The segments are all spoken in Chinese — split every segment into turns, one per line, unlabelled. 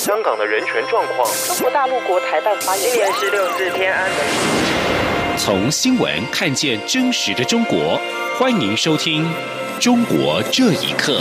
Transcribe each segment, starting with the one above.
香港的人权状况。
中国大陆国台办发言人，
今年是6四天安门。
从新闻看见真实的中国，欢迎收听《中国这一刻》。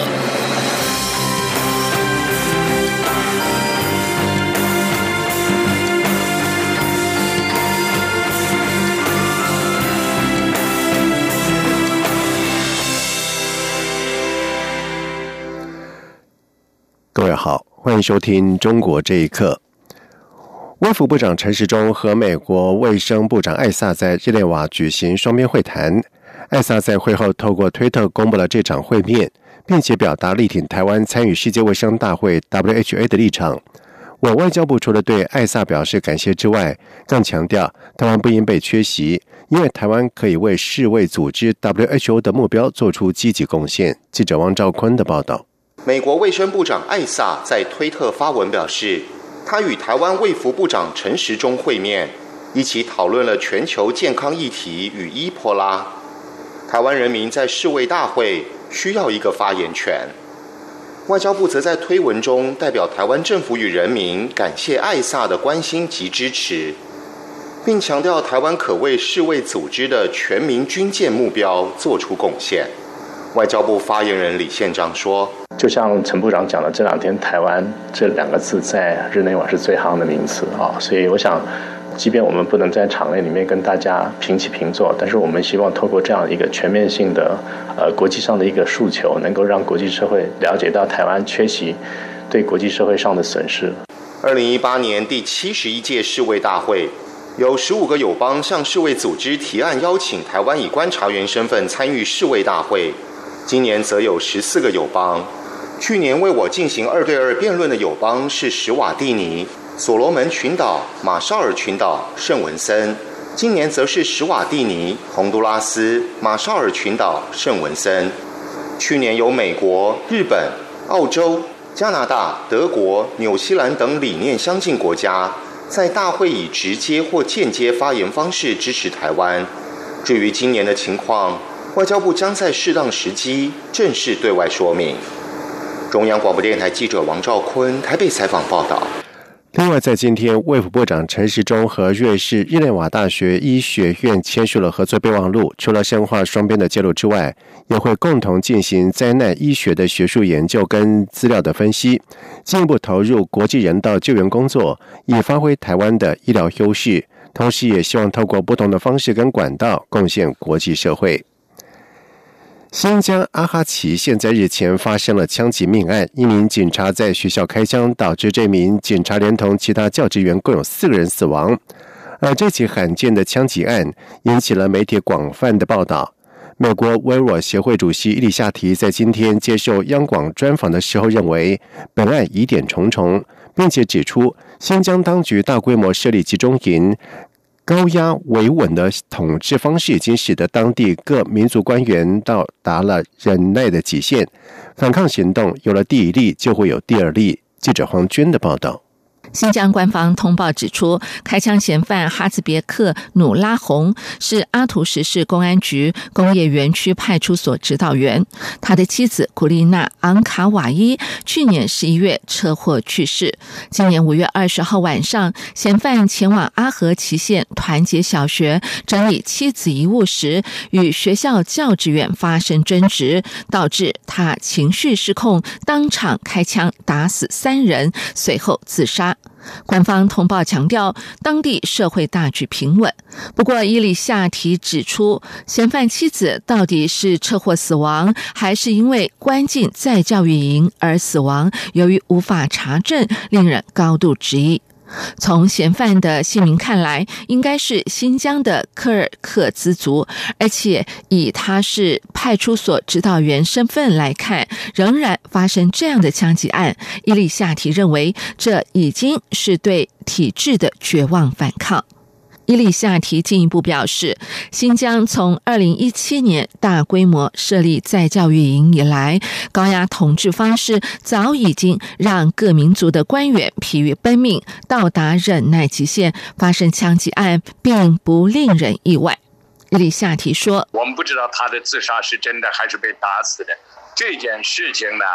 各位好，欢迎收听《中国这一刻》。卫福部长陈时中和美国卫生部长艾萨在日内瓦举行双边会谈。艾萨在会后透过推特公布了这场会面，并且表达力挺台湾参与世界卫生大会 WHO 的立场。我外交部除了对艾萨表示感谢之外，更强调台湾不应被缺席，因为台湾可以为世卫组织 WHO 的目标做出积极贡献。记者王兆坤的报道。
美国卫生部长艾萨在推特发文表示，他与台湾卫福部长陈时中会面，一起讨论了全球健康议题与伊波拉。台湾人民在世卫大会需要一个发言权。外交部则在推文中代表台湾政府与人民感谢艾萨的关心及支持，并强调台湾可为世卫组织的全民军舰目标做出贡献。外交部发言人李宪章说，
就像陈部长讲的，这两天台湾这两个字在日内瓦是最夯的名词啊，所以我想即便我们不能在场内里面跟大家平起平坐，但是我们希望透过这样一个全面性的国际上的一个诉求，能够让国际社会了解到台湾缺席对国际社会上的损失。
2018年第71届世卫大会，有15个友邦向世卫组织提案邀请台湾以观察员身份参与世卫大会，今年则有14个友邦。去年为我进行2对2辩论的友邦是史瓦蒂尼、所罗门群岛、马绍尔群岛、圣文森，今年则是史瓦蒂尼、洪都拉斯、马绍尔群岛、圣文森。去年有美国、日本、澳洲、加拿大、德国、纽西兰等理念相近国家在大会以直接或间接发言方式支持台湾。至于今年的情况，外交部将在适当时机正式对外说明。中央广播电台记者王兆坤台北采访报道。
另外，在今天，卫福部长陈时中和瑞士日内瓦大学医学院签署了合作备忘录，除了深化双边的介入之外，也会共同进行灾难医学的学术研究跟资料的分析，进一步投入国际人道救援工作，以发挥台湾的医疗优势，同时也希望透过不同的方式跟管道贡献国际社会。新疆阿哈齐县在日前发生了枪击命案，一名警察在学校开枪，导致这名警察连同其他教职员共有4个人死亡。而这起罕见的枪击案引起了媒体广泛的报道。美国维吾尔协会主席伊里夏提在今天接受央广专访的时候认为，本案疑点重重，并且指出新疆当局大规模设立集中营，高压维稳的统治方式已经使得当地各民族官员到达了忍耐的极限，反抗行动有了第一例就会有第二例。记者黄娟的报道。
新疆官方通报指出，开枪嫌犯哈兹别克努拉洪是阿图什市公安局工业园区派出所指导员，他的妻子古丽娜·昂卡瓦伊去年11月车祸去世。今年5月20号晚上，嫌犯前往阿合齐县团结小学整理妻子遗物时，与学校教职员发生争执，导致他情绪失控，当场开枪打死3人，随后自杀。官方通报强调，当地社会大局平稳。不过，伊里夏提指出，嫌犯妻子到底是车祸死亡，还是因为关进再教育营而死亡，由于无法查证，令人高度质疑。从嫌犯的姓名看来，应该是新疆的柯尔克孜族，而且以他是派出所指导员身份来看，仍然发生这样的枪击案，伊里夏提认为这已经是对体制的绝望反抗。伊里夏提进一步表示，新疆从2017年大规模设立再教育营以来，高压统治方式早已经让各民族的官员疲于奔命，到达忍耐极限，发生枪击案并不令人意外。伊里夏提说，
我们不知道他的自杀是真的还是被打死的，这件事情呢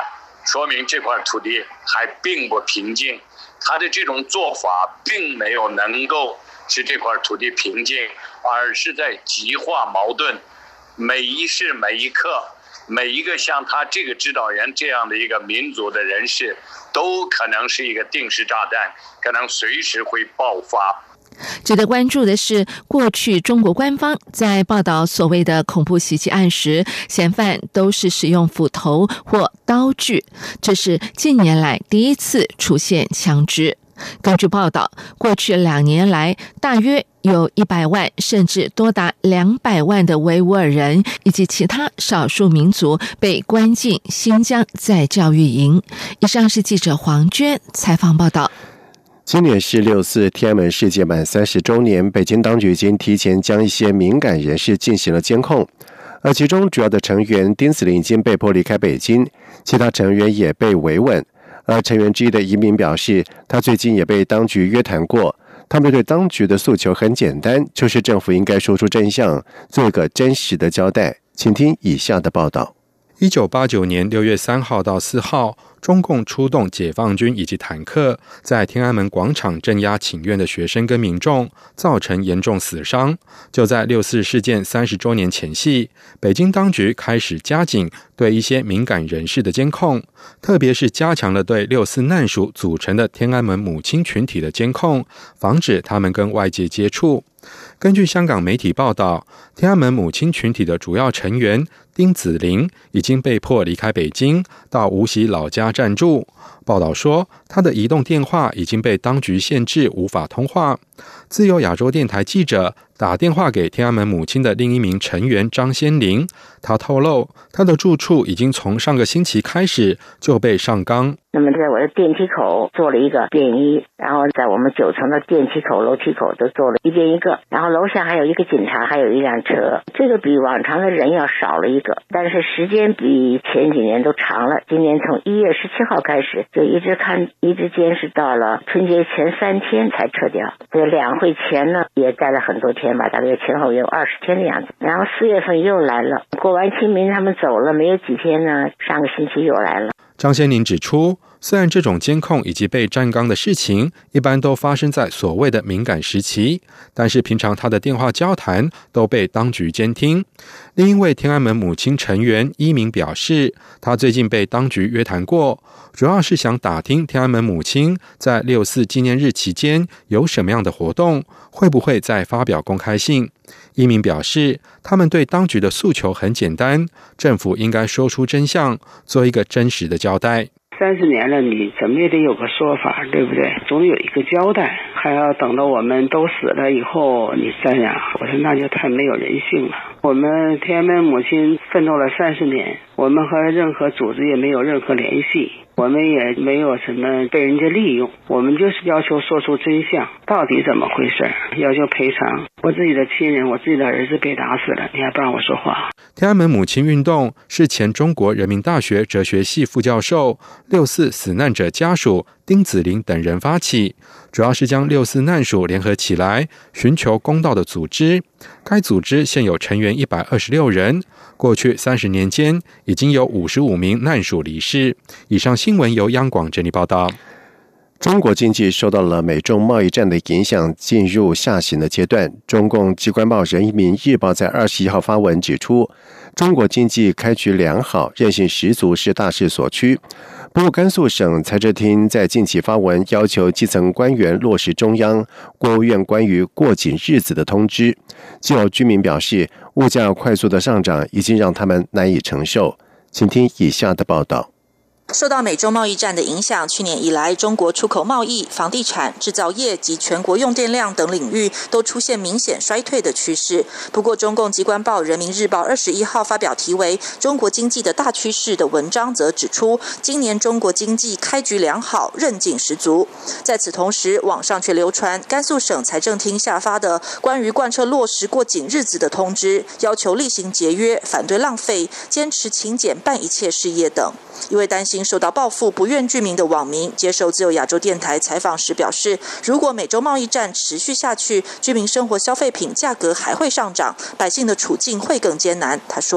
说明这块土地还并不平静，他的这种做法并没有能够使这块土地平静，而是在激化矛盾。每一时每一刻，每一个像他这个指导员这样的一个民族的人士，都可能是一个定时炸弹，可能随时会爆发。
值得关注的是，过去中国官方在报道所谓的恐怖袭击案时，嫌犯都是使用斧头或刀具，这是近年来第一次出现枪支。根据报道，过去2年来，大约有100万甚至多达200万的维吾尔人以及其他少数民族被关进新疆再教育营。以上是记者黄娟采访报道。
今年是6·4天安门事件满30周年，北京当局已经提前将一些敏感人士进行了监控，而其中主要的成员丁子霖已经被迫离开北京，其他成员也被维稳。而成员之一的移民表示，他最近也被当局约谈过，他们对当局的诉求很简单，就是政府应该说出真相，做一个真实的交代。请听以下的报道。
1989年6月3号到4号，中共出动解放军以及坦克，在天安门广场镇压请愿的学生跟民众，造成严重死伤。就在6·4事件30周年前夕，北京当局开始加紧对一些敏感人士的监控，特别是加强了对6·4难属组成的天安门母亲群体的监控，防止他们跟外界接触。根据香港媒体报道，天安门母亲群体的主要成员丁子霖已经被迫离开北京，到无锡老家暂住。报道说，他的移动电话已经被当局限制，无法通话。自由亚洲电台记者打电话给天安门母亲的另一名成员张先林，他透露，他的住处已经从上个星期开始就被上纲。
那么在我的电梯口做了一个便衣，然后在我们9层的电梯口、楼梯口都做了一边一个，然后楼下还有一个警察，还有一辆车。这个比往常的人要少了一个，但是时间比前几年都长了。今年从1月17号开始，就一直监视到了春节前3天才撤掉。这2会前呢也待了很多天吧，大概前后有20天的样子。然后4月份又来了，过完清明他们走了没有几天呢，上个星期又来了。
张先林指出，虽然这种监控以及被站岗的事情一般都发生在所谓的敏感时期，但是平常他的电话交谈都被当局监听。另一位天安门母亲成员一鸣表示，他最近被当局约谈过，主要是想打听天安门母亲在6·4纪念日期间有什么样的活动，会不会再发表公开信。一鸣表示，他们对当局的诉求很简单，政府应该说出真相，做一个真实的交代。
30年了，你怎么也得有个说法，对不对？总有一个交代，还要等到我们都死了以后你再呀？我说那就太没有人性了。我们天安门母亲奋斗了30年，我们和任何组织也没有任何联系，我们也没有什么被人家利用，我们就是要求说出真相，到底怎么回事，要求赔偿。我自己的亲人，我自己的儿子被打死了，你还不让我说话。
天安门母亲运动是前中国人民大学哲学系副教授、6·4死难者家属丁子霖等人发起，主要是将6·4难属联合起来，寻求公道的组织。该组织现有成员126人，过去30年间已经有55名难属离世。以上新闻由央广整理报道。
中国经济受到了美中贸易战的影响，进入下行的阶段。中共机关报《人民日报》在21号发文指出，中国经济开局良好，韧性十足是大势所趋。不过，甘肃省财政厅在近期发文要求基层官员落实中央、国务院关于过紧日子的通知。既有居民表示，物价快速的上涨已经让他们难以承受。请听以下的报道。
受到美中贸易战的影响，去年以来，中国出口贸易、房地产、制造业及全国用电量等领域都出现明显衰退的趋势。不过，中共机关报《人民日报》21号发表题为《中国经济的大趋势》的文章，则指出，今年中国经济开局良好，韧劲十足。在此同时，网上却流传甘肃省财政厅下发的关于贯彻落实过紧日子的通知，要求厉行节约、反对浪费、坚持勤俭办一切事业等。一位担心受到报复不愿具名的网民接受自由亚洲电台采访时表示，如果美洲贸易战持续下去，居民生活消费品价格还会上涨，百姓的处境会更艰难。他说，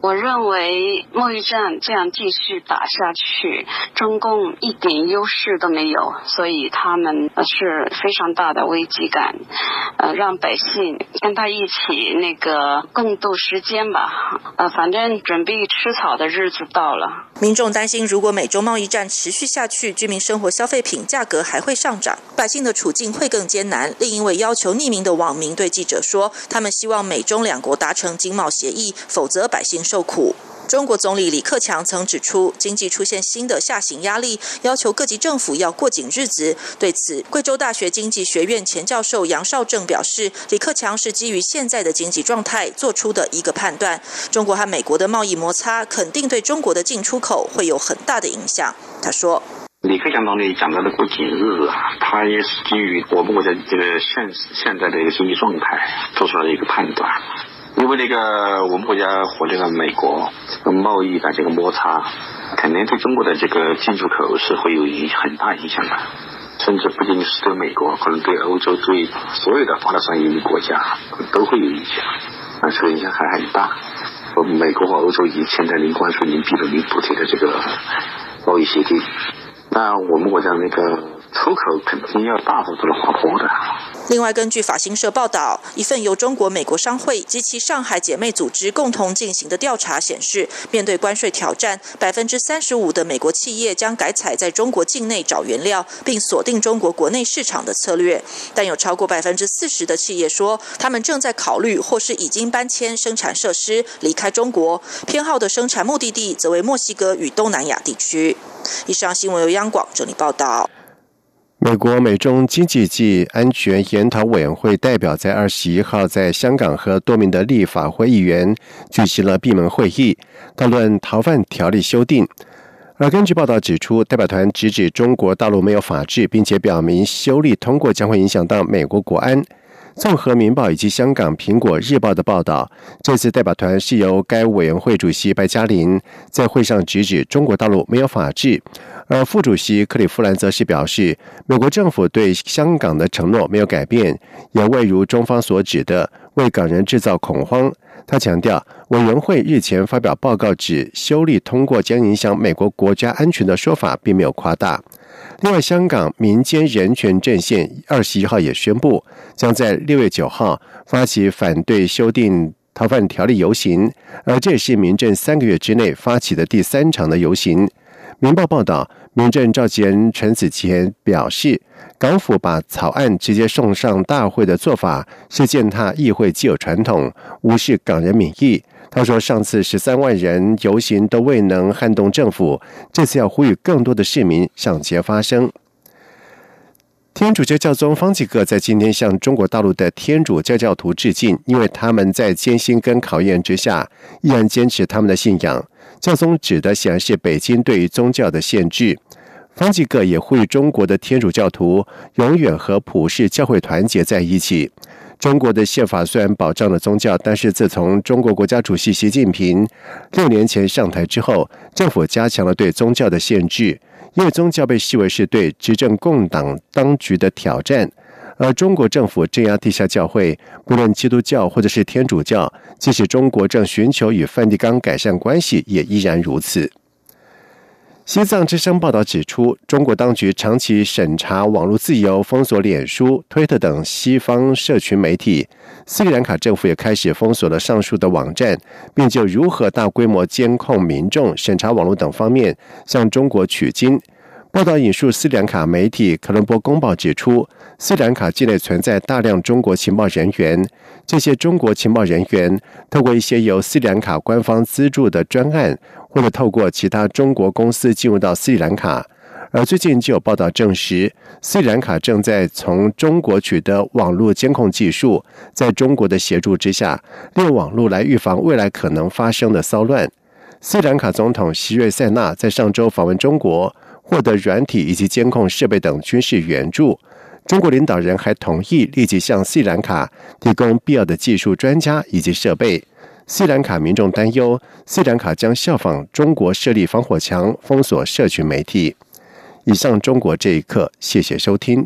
我认为贸易战这样继续打下去，中共一点优势都没有，所以他们是非常大的危机感，让百姓跟他一起共度时间吧，反正准备吃草的日子到了。
民众担心，如果美中贸易战持续下去，居民生活消费品价格还会上涨，百姓的处境会更艰难。另一位要求匿名的网民对记者说，他们希望美中两国达成经贸协议，否则百姓受苦。中国总理李克强曾指出，经济出现新的下行压力，要求各级政府要过紧日子。对此，贵州大学经济学院前教授杨绍正表示，李克强是基于现在的经济状态做出的一个判断。中国和美国的贸易摩擦肯定对中国的进出口会有很大的影响。他说，
李克强总理讲到的过紧日子他也是基于我们国家这个现在的一个经济状态做出来的一个判断。因为我们国家和美国贸易的这个摩擦，肯定对中国的这个进出口是会有很大影响的，甚至不仅是对美国，可能对欧洲、对所有的发达商业国家都会有影响，这个影响还很大。美国和欧洲已签订零关税、零壁垒、零补贴的这个贸易协定，那我们国家出口肯定要大幅度的滑坡的。
另外，根据法新社报道，一份由中国美国商会及其上海姐妹组织共同进行的调查显示，面对关税挑战，35%的美国企业将改采在中国境内找原料，并锁定中国国内市场的策略。但有超过40%的企业说，他们正在考虑或是已经搬迁生产设施离开中国，偏好的生产目的地则为墨西哥与东南亚地区。以上新闻由央广整理报道。
美国美中经济及安全研讨委员会代表在21号在香港和多名的立法会议员举行了闭门会议，讨论逃犯条例修订。而根据报道指出，代表团直指中国大陆没有法治，并且表明修例通过将会影响到美国国安。综合民报以及香港苹果日报的报道，这次代表团是由该委员会主席白嘉琳在会上直指中国大陆没有法治，而副主席克里夫兰则是表示，美国政府对香港的承诺没有改变，也未如中方所指的为港人制造恐慌。他强调，委员会日前发表报告指修例通过将影响美国国家安全的说法并没有夸大。另外，香港民间人权阵线21号也宣布，将在6月9号发起反对修订逃犯条例游行，而这也是民阵3个月之内发起的第3场的游行。民报报道，民阵召集人陈子乾表示，港府把草案直接送上大会的做法是践踏议会既有传统，无视港人民意。他说，上次13万人游行都未能撼动政府，这次要呼吁更多的市民上街发声。天主教教宗方济各在今天向中国大陆的天主教教徒致敬，因为他们在艰辛跟考验之下依然坚持他们的信仰。教宗指的显然是北京对于宗教的限制。方济各也呼吁中国的天主教徒永远和普世教会团结在一起。中国的宪法虽然保障了宗教，但是自从中国国家主席习近平6年前上台之后，政府加强了对宗教的限制，因为宗教被视为是对执政共党当局的挑战。而中国政府镇压地下教会，不论基督教或者是天主教，即使中国正寻求与梵蒂冈改善关系，也依然如此。西藏之声报道指出，中国当局长期审查网络自由，封锁脸书、推特等西方社群媒体。斯里兰卡政府也开始封锁了上述的网站，并就如何大规模监控民众、审查网络等方面向中国取经。报道引述斯里兰卡媒体《科伦坡公报》指出，斯里兰卡境内存在大量中国情报人员，这些中国情报人员透过一些由斯里兰卡官方资助的专案，或者透过其他中国公司进入到斯里兰卡。而最近就有报道证实，斯里兰卡正在从中国取得网络监控技术，在中国的协助之下，利用网络来预防未来可能发生的骚乱。斯里兰卡总统席瑞塞纳在上周访问中国，获得软体以及监控设备等军事援助。中国领导人还同意立即向斯里兰卡提供必要的技术专家以及设备。斯里兰卡民众担忧，斯里兰卡将效仿中国设立防火墙，封锁社群媒体。以上中国这一刻，谢谢收听。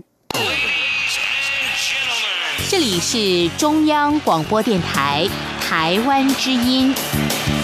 这里是中央广播电台台湾之音。